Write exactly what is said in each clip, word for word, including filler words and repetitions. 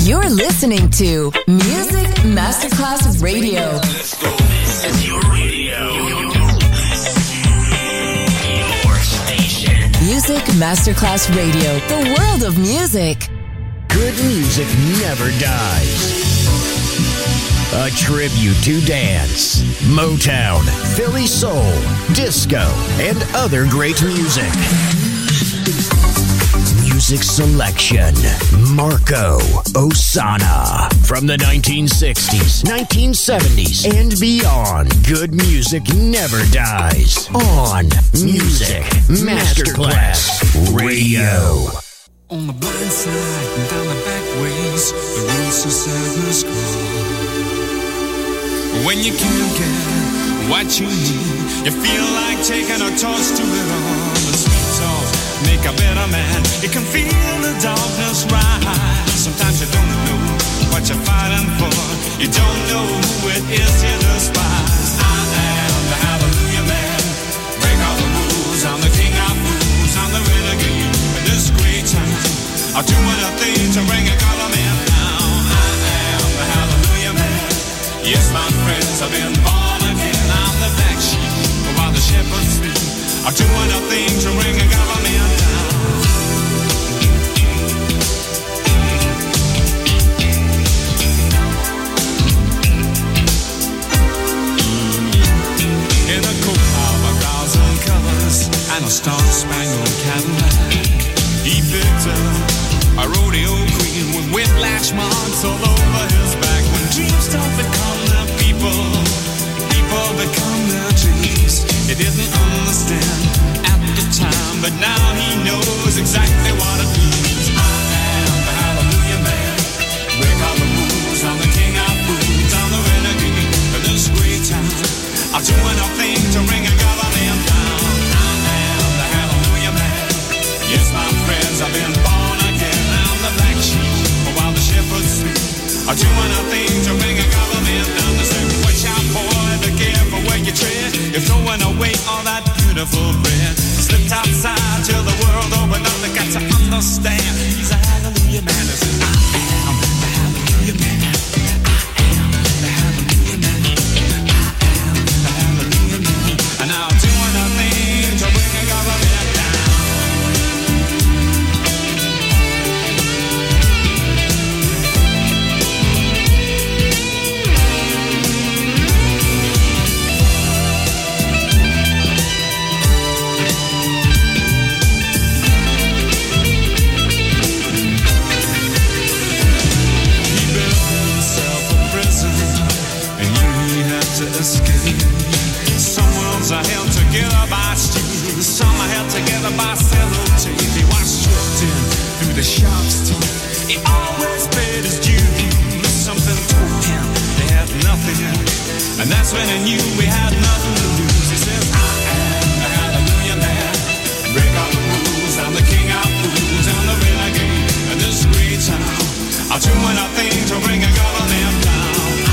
You're listening to Music Masterclass Radio. Let's go. This is your radio. Your station. Music Masterclass Radio. The world of music. Good music never dies. A tribute to dance, Motown, Philly soul, disco, and other great music. Music selection, Marco Ossanna. From the nineteen sixties, nineteen seventies, and beyond, good music never dies. On Music Masterclass Radio. On the blind side and down the back ways, the roots of sadness crawl. When you can't get what you need, you feel like taking a torch to it all. The sweet talk make a better man. You can feel the darkness rise. Sometimes you don't know what you're fighting for. You don't know who it is you despise. I am the hallelujah man. Break all the rules. I'm the king of fools. I'm the renegade in this great town. I'm doing a thing to bring a government down. I am the hallelujah man. Yes, my friends, I've been born again. I'm the black sheep while the shepherds sleep. I'm doing a thing to bring a government down. In a coat of a thousand colors and a star-spangled Cadillac, he picked up a rodeo queen with whiplash marks all over his back. When dreams don't become their people, people become their dreams. He didn't understand at the time, but now he knows exactly what it means. I am the hallelujah man. Break all the rules. I'm the king of fools. I'm the renegade of this great town. I'm doing a thing to bring a government down. I am the hallelujah man. Yes, my friends, I've been born again. I'm the black sheep while the shepherds sleep. I'm doing a thing to bring a government down. They say, watch out, boy, be careful where you tread. You're throwing away all that beautiful bread. Slipped outside till the world opened up. They got to understand he's a hallelujah man. They say, I am the hallelujah man. I am the hallelujah man. I am the hallelujah man. And I'm doing a thing to bring a government down. Escape. Some worlds are held together by steel, some are held together by sellotape. He was stripped in through the shark's teeth. He always paid his dues. Something told him they had nothing, and that's when he knew we had nothing to lose. He says, I am the hallelujah man. Break all the rules. I'm the king of fools. I'm the renegade in this great town. I'm doing a thing to bring a government down.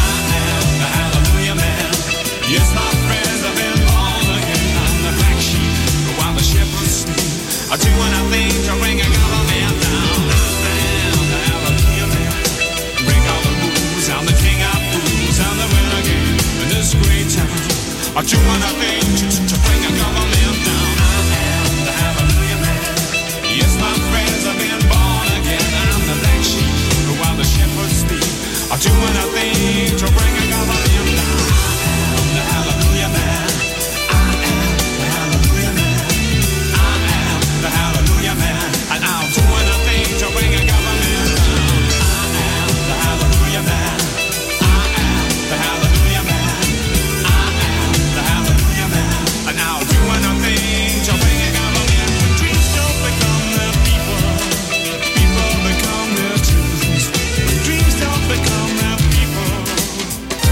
Yes, my friends, I've been born again. I'm the black sheep while the shepherds sleep. I'm doing a thing to bring a government down. I am the hallelujah man. Break all the rules. I'm the king of fools. I'm the renegade in this great town. I'm doing a thing to, to bring a government down. I am the hallelujah man. Yes, my friends, I've been born again. I'm the black sheep while the shepherds sleep. I'm doing a thing to bring a government down. The hallelujah man. I am the hallelujah man. I am the hallelujah man. And I'm doing a thing to bring a government down. I am the hallelujah man. I am the hallelujah man. I am the hallelujah man. And I'm doing a thing to bring a government. When dreams don't become their people, people become their dreams. When dreams don't become their people.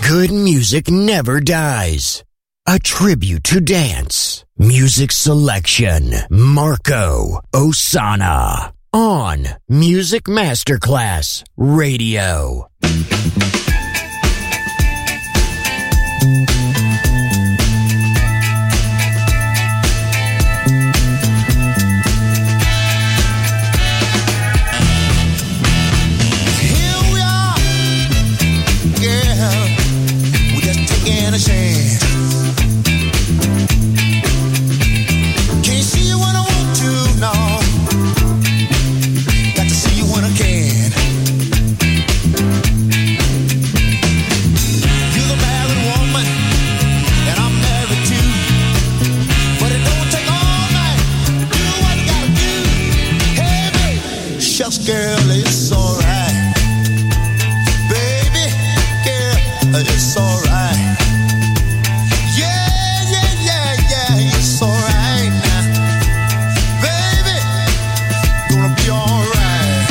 Good music never dies. A tribute to dance. Music selection. Marco Ossanna. On Music Masterclass Radio. Girl, it's alright. Baby, girl, it's alright. Yeah, yeah, yeah, yeah, it's alright now. Baby, gonna be alright.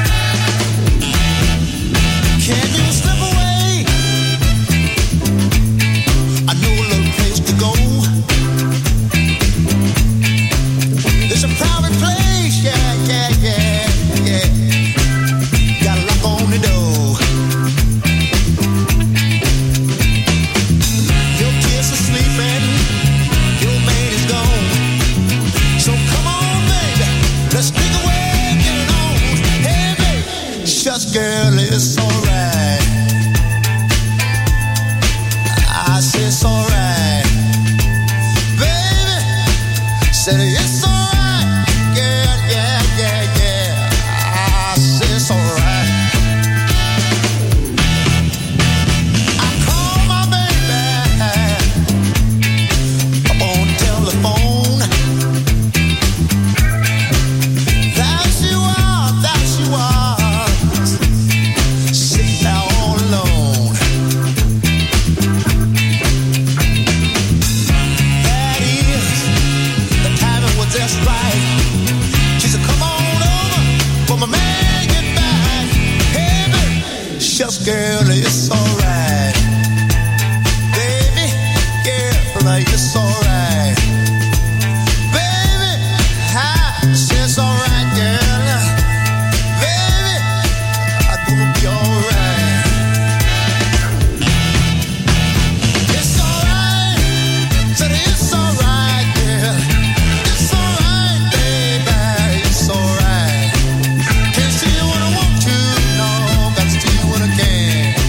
Can you slip away? I know a little place to go. It's a private place, yeah, yeah, yeah. Girl, it's alright. I say it's alright. Baby, said it's alright. Girl, yeah, yeah, yeah. I say it's alright. I call my baby up on the telephone. There she was, there she was. Just right. She said, come on over, for my man get back. Hey, baby, shucks, girl, it's alright. Baby, girl, it's alright. Baby, I say it's alright, girl. Baby, I'm gonna be alright. It's alright, said it's alright, girl. Alright. Can't see you when I want to, no, gotta see you when I can.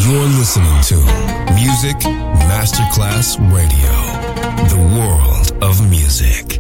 You're listening to Music Masterclass Radio, the world of music.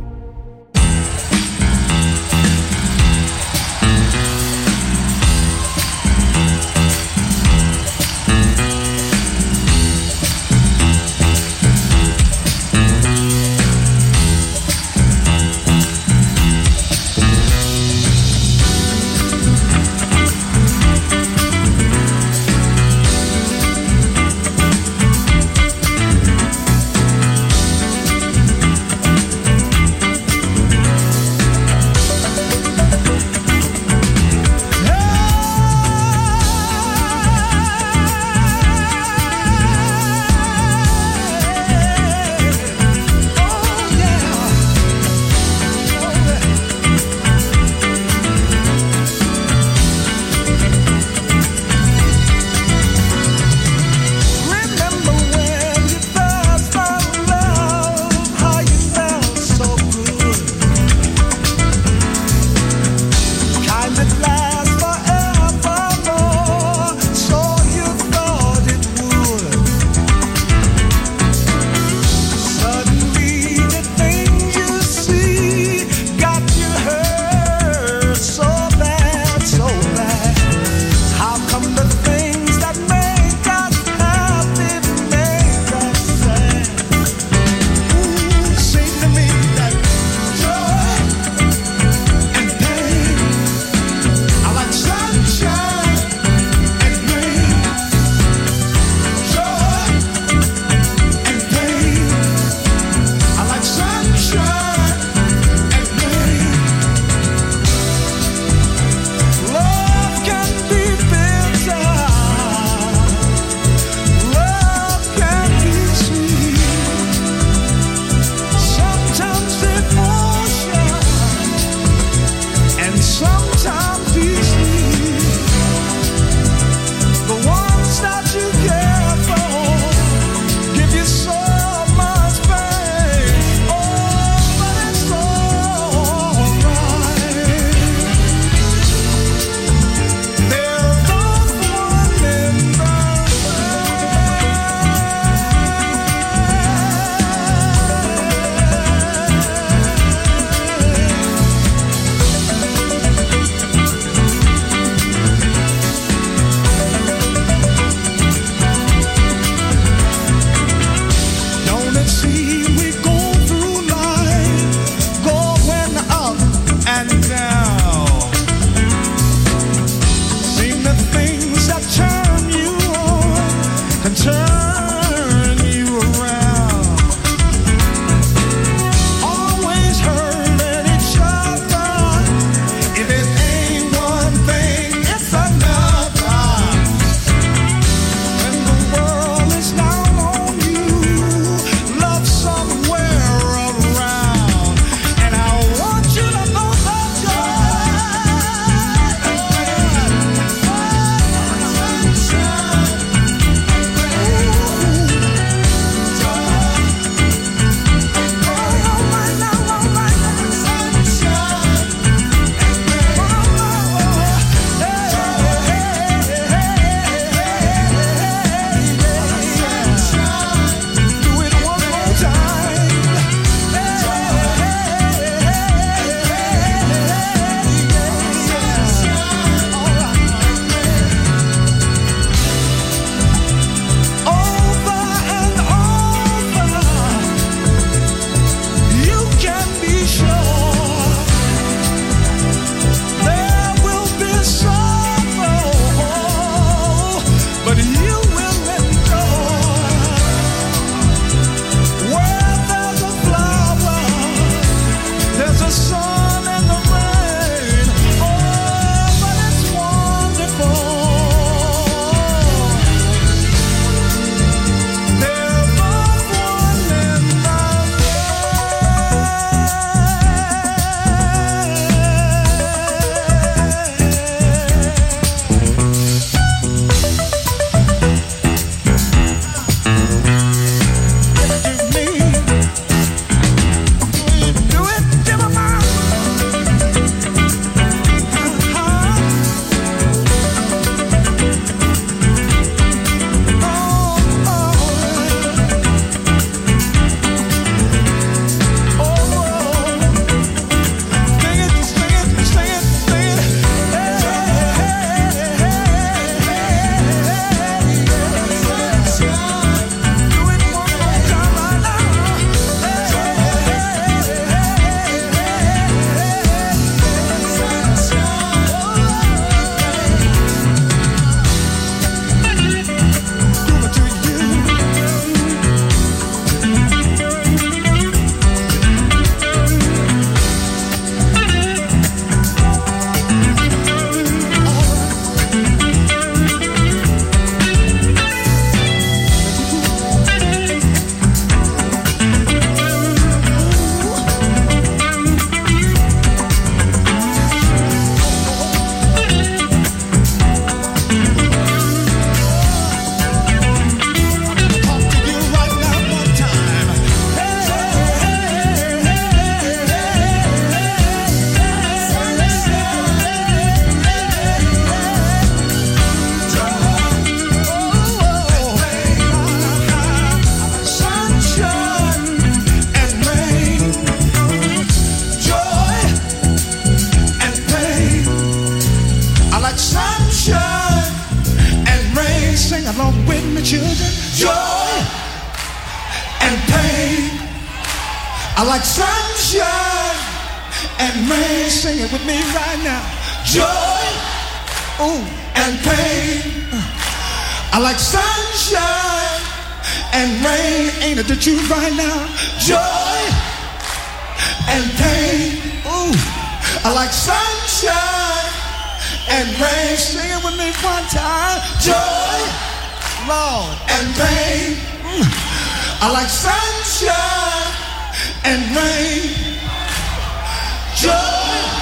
children, joy and pain. I like sunshine and rain. Sing it with me right now. Joy, ooh, and pain. I like sunshine and rain. Ain't it the truth right now? Joy and pain. Ooh, I like sunshine and rain. Sing it with me one time. Joy, Lord, and pain. Mm. I like sunshine and rain. Joy.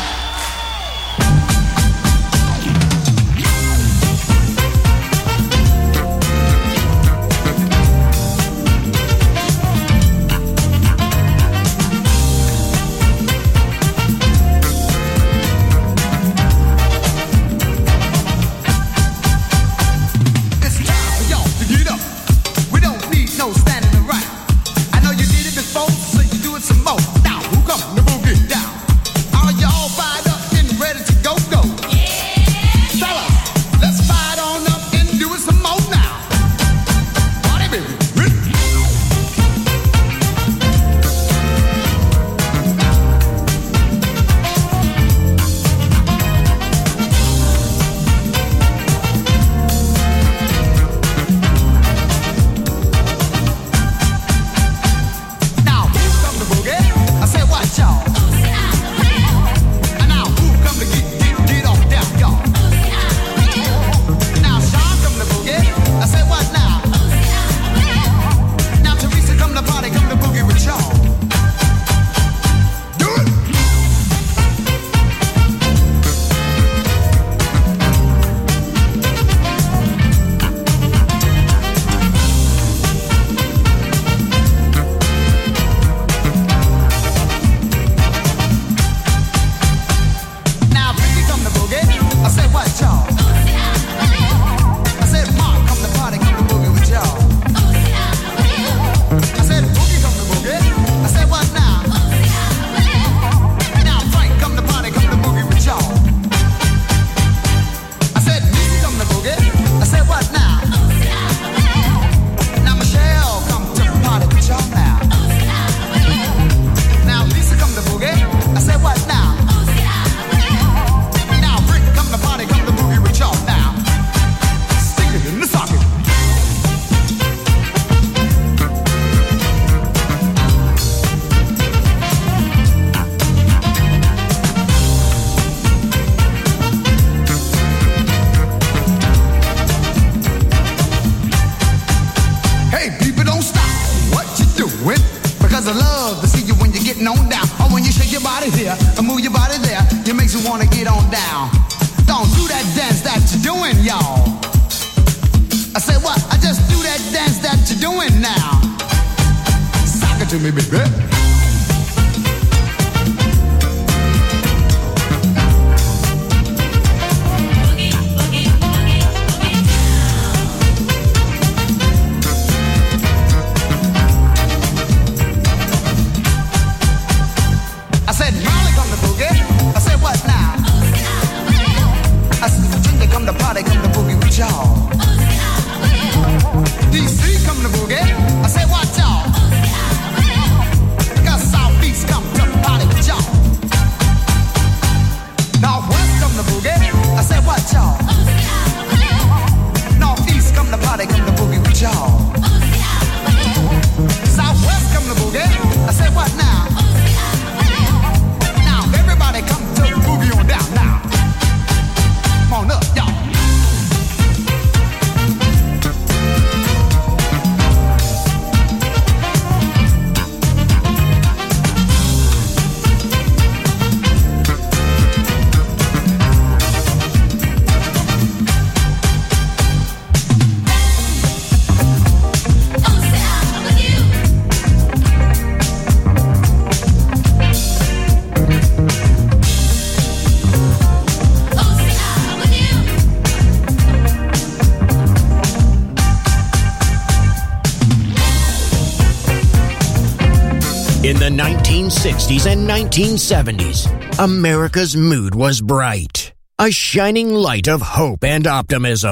In the nineteen sixties and nineteen seventies, America's mood was bright, a shining light of hope and optimism.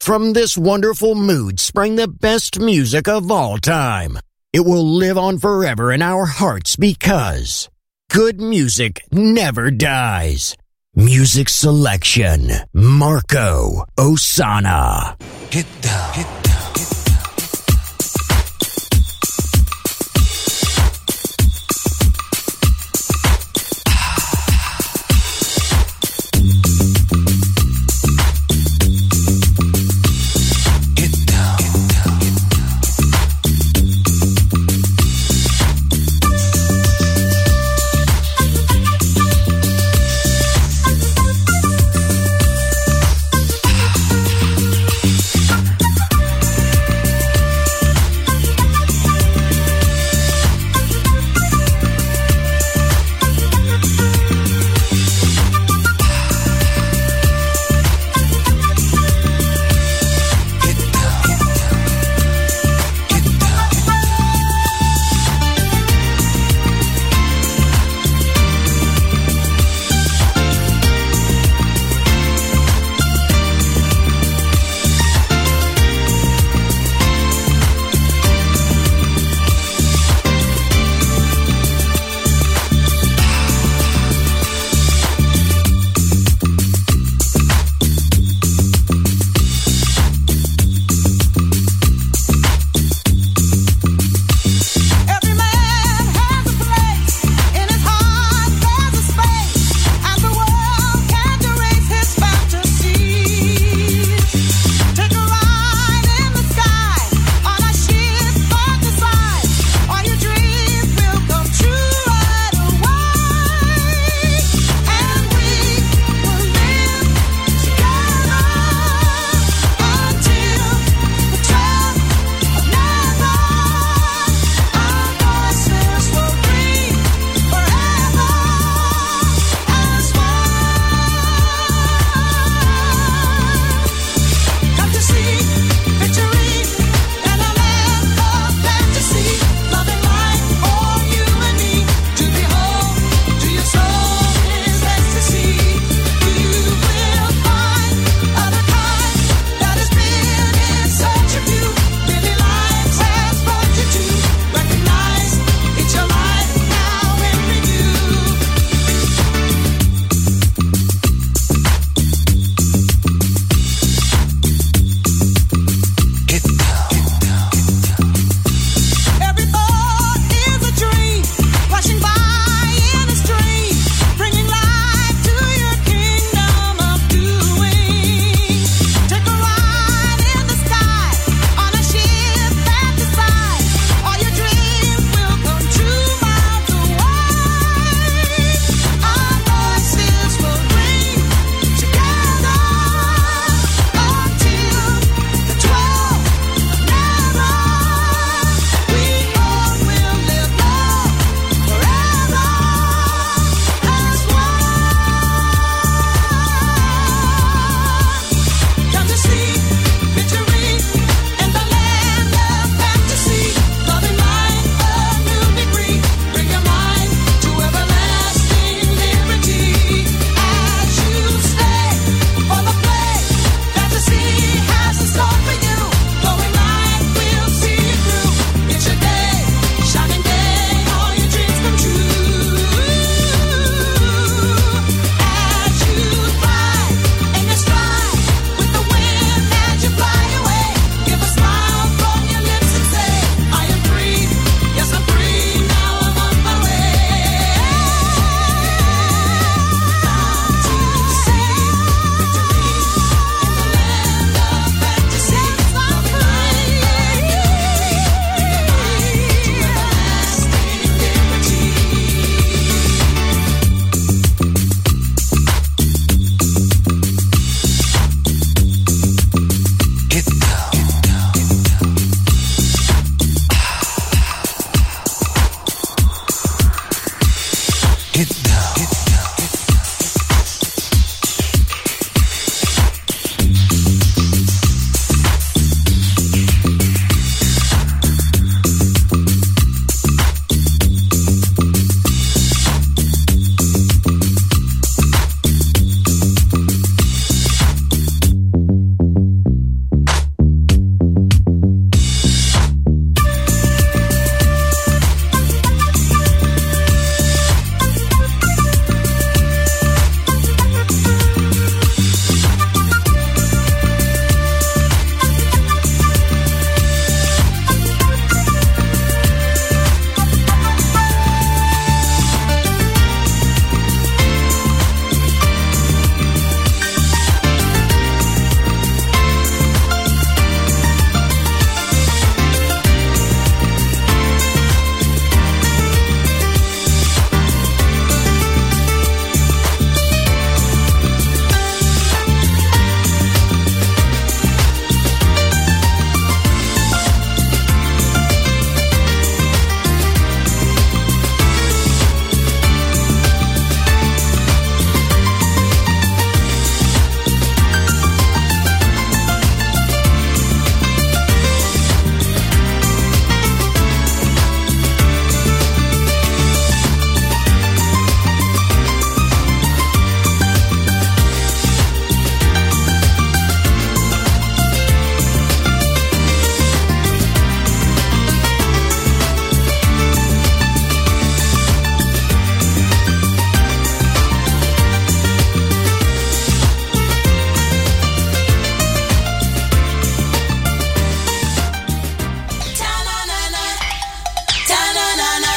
From this wonderful mood sprang the best music of all time. It will live on forever in our hearts because good music never dies. Music selection, Marco Ossanna. Get down, get down.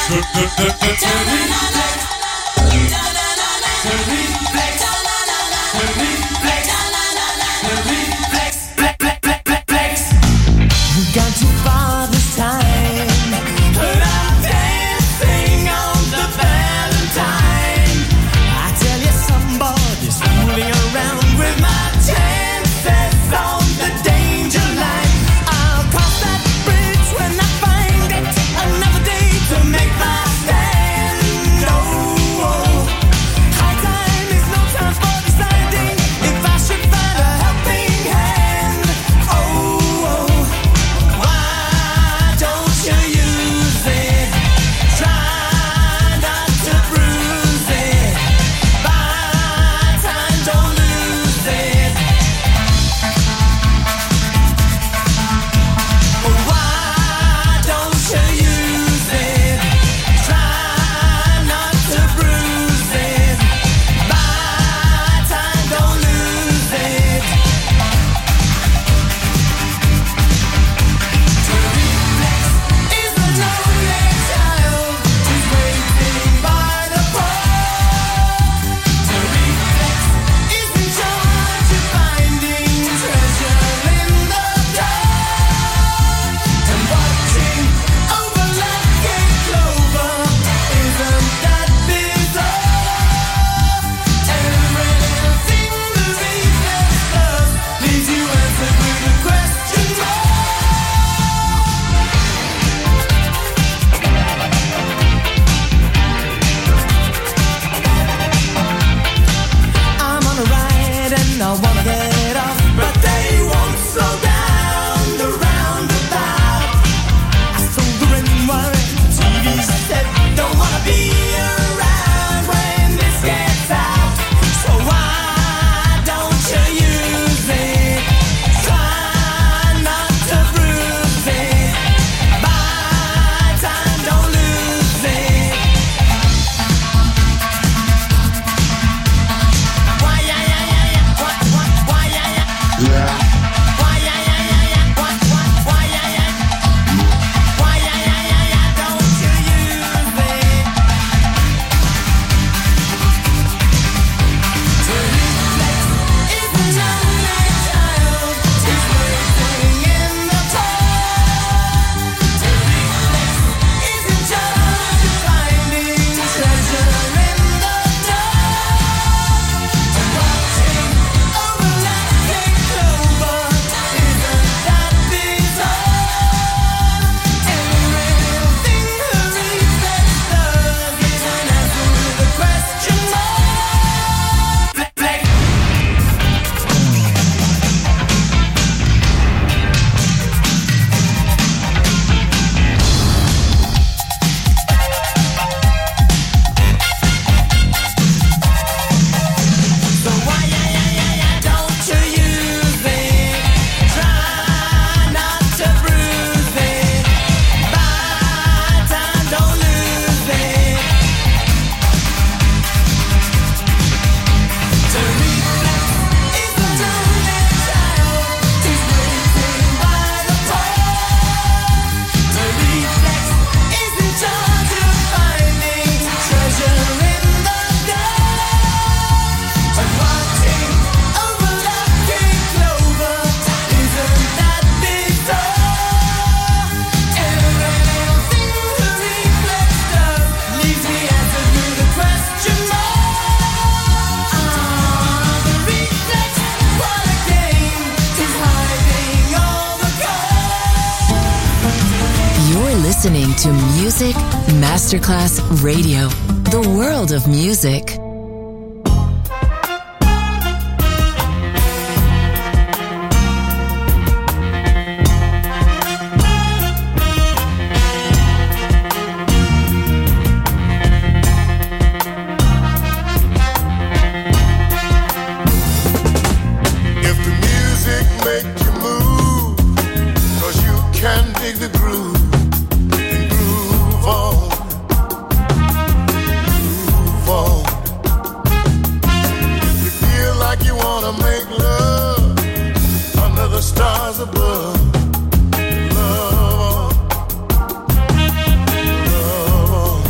listening to Music Masterclass Radio, the world of music. Love, love.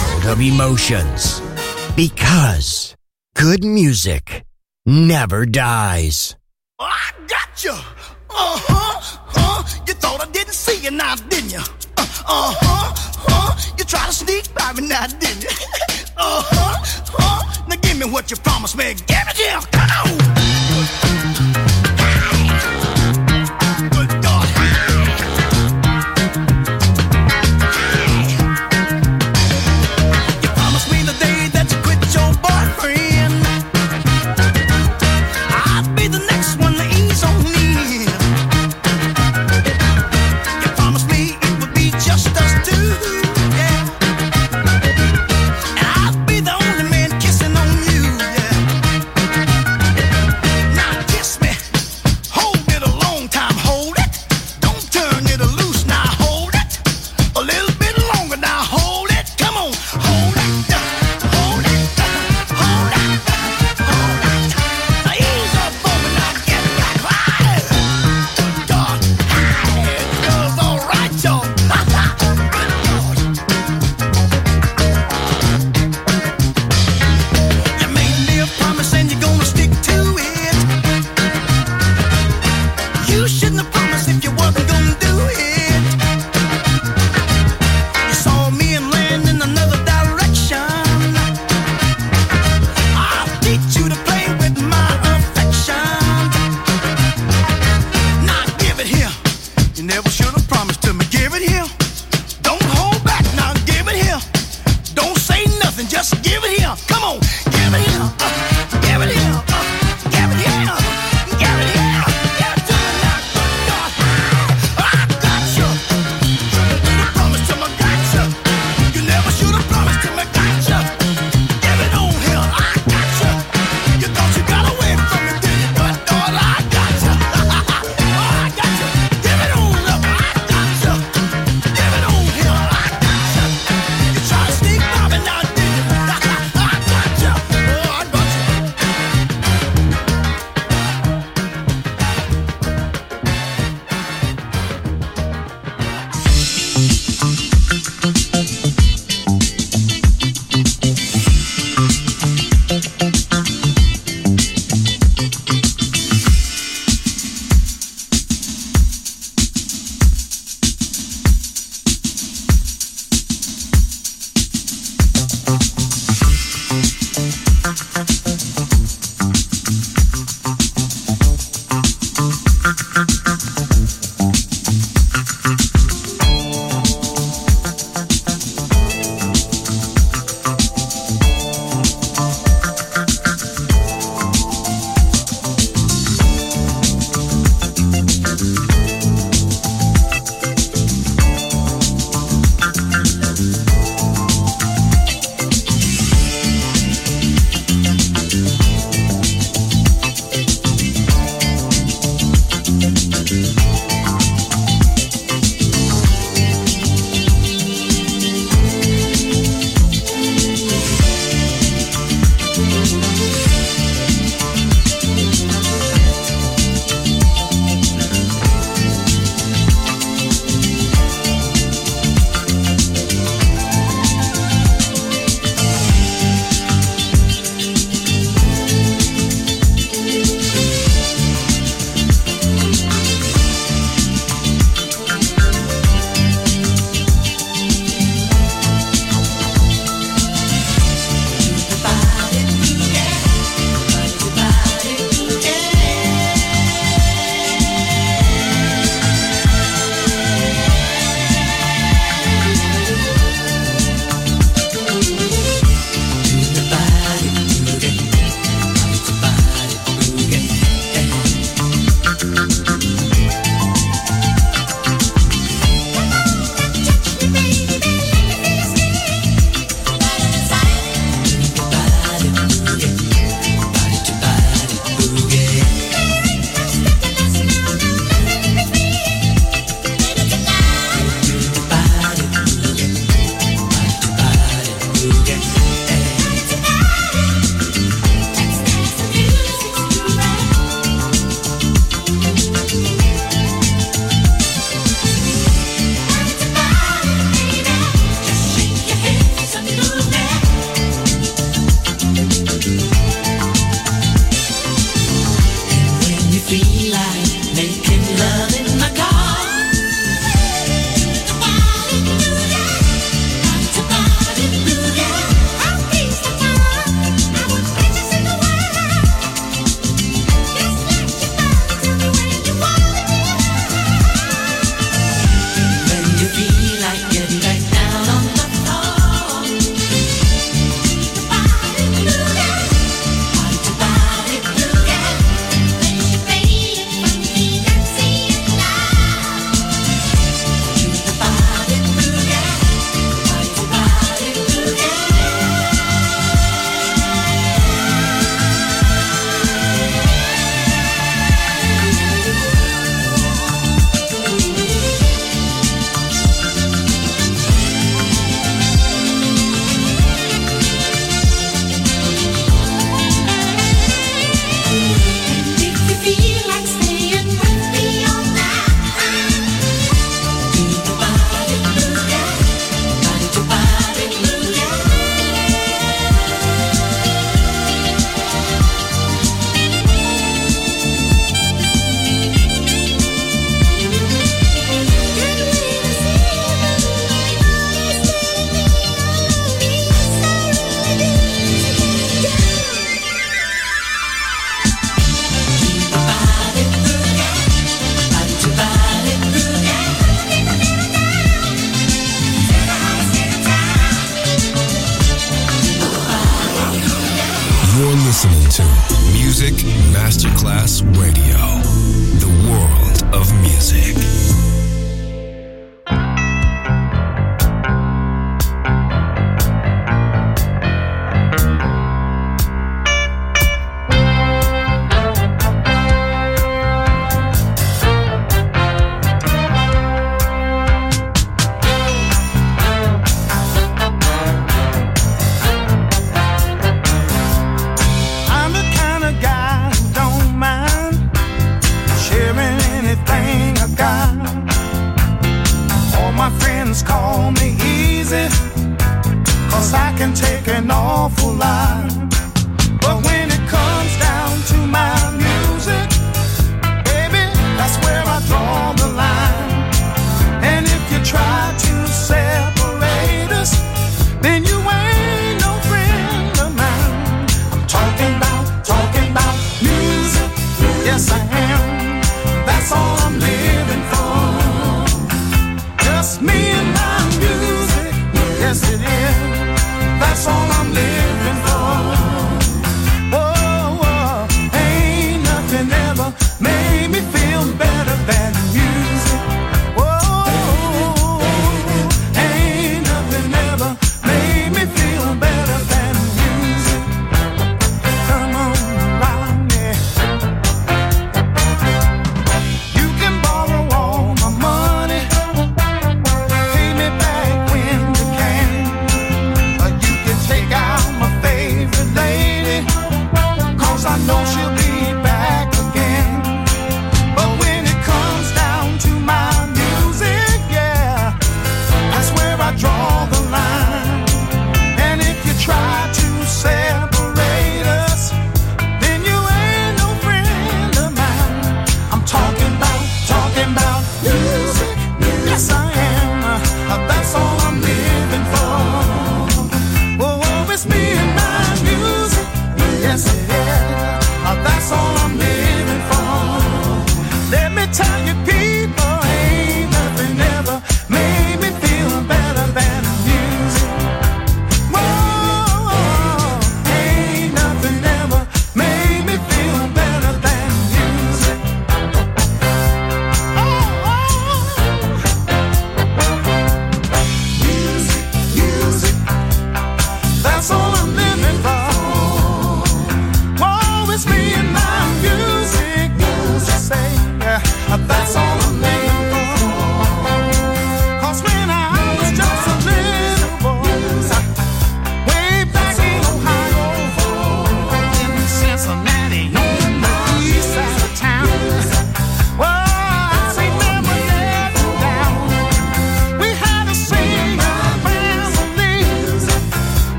world of emotions. Because good music never dies. I got you. Uh-huh, huh. You thought I didn't see you now, didn't you? Uh, uh-huh, huh. You tried to sneak by me now, didn't you? Uh-huh, huh. Now give me what you promised me. Give it here. Come on. Good God. You promised me the day that you quit your boyfriend, I'd be the next one to ease on in. You promised me it would be just us two, yeah. And I'd be the only man kissing on you, yeah. You're listening to Music Masterclass Radio, the world of music. Call me easy, cause I can take an awful lot. But when it comes down to my music, baby, that's where I draw the line. And if you try to separate us, then you ain't no friend of mine. I'm talking about, talking about music, yes I am. That's all I'm living for. Just me and my music, yes it is. That's all I'm living for. Oh, oh, ain't nothing ever made me feel better than music. Oh,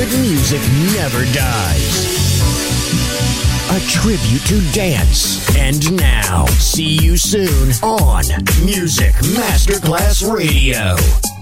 good music never dies. A tribute to dance. And now, see you soon on Music Masterclass Radio.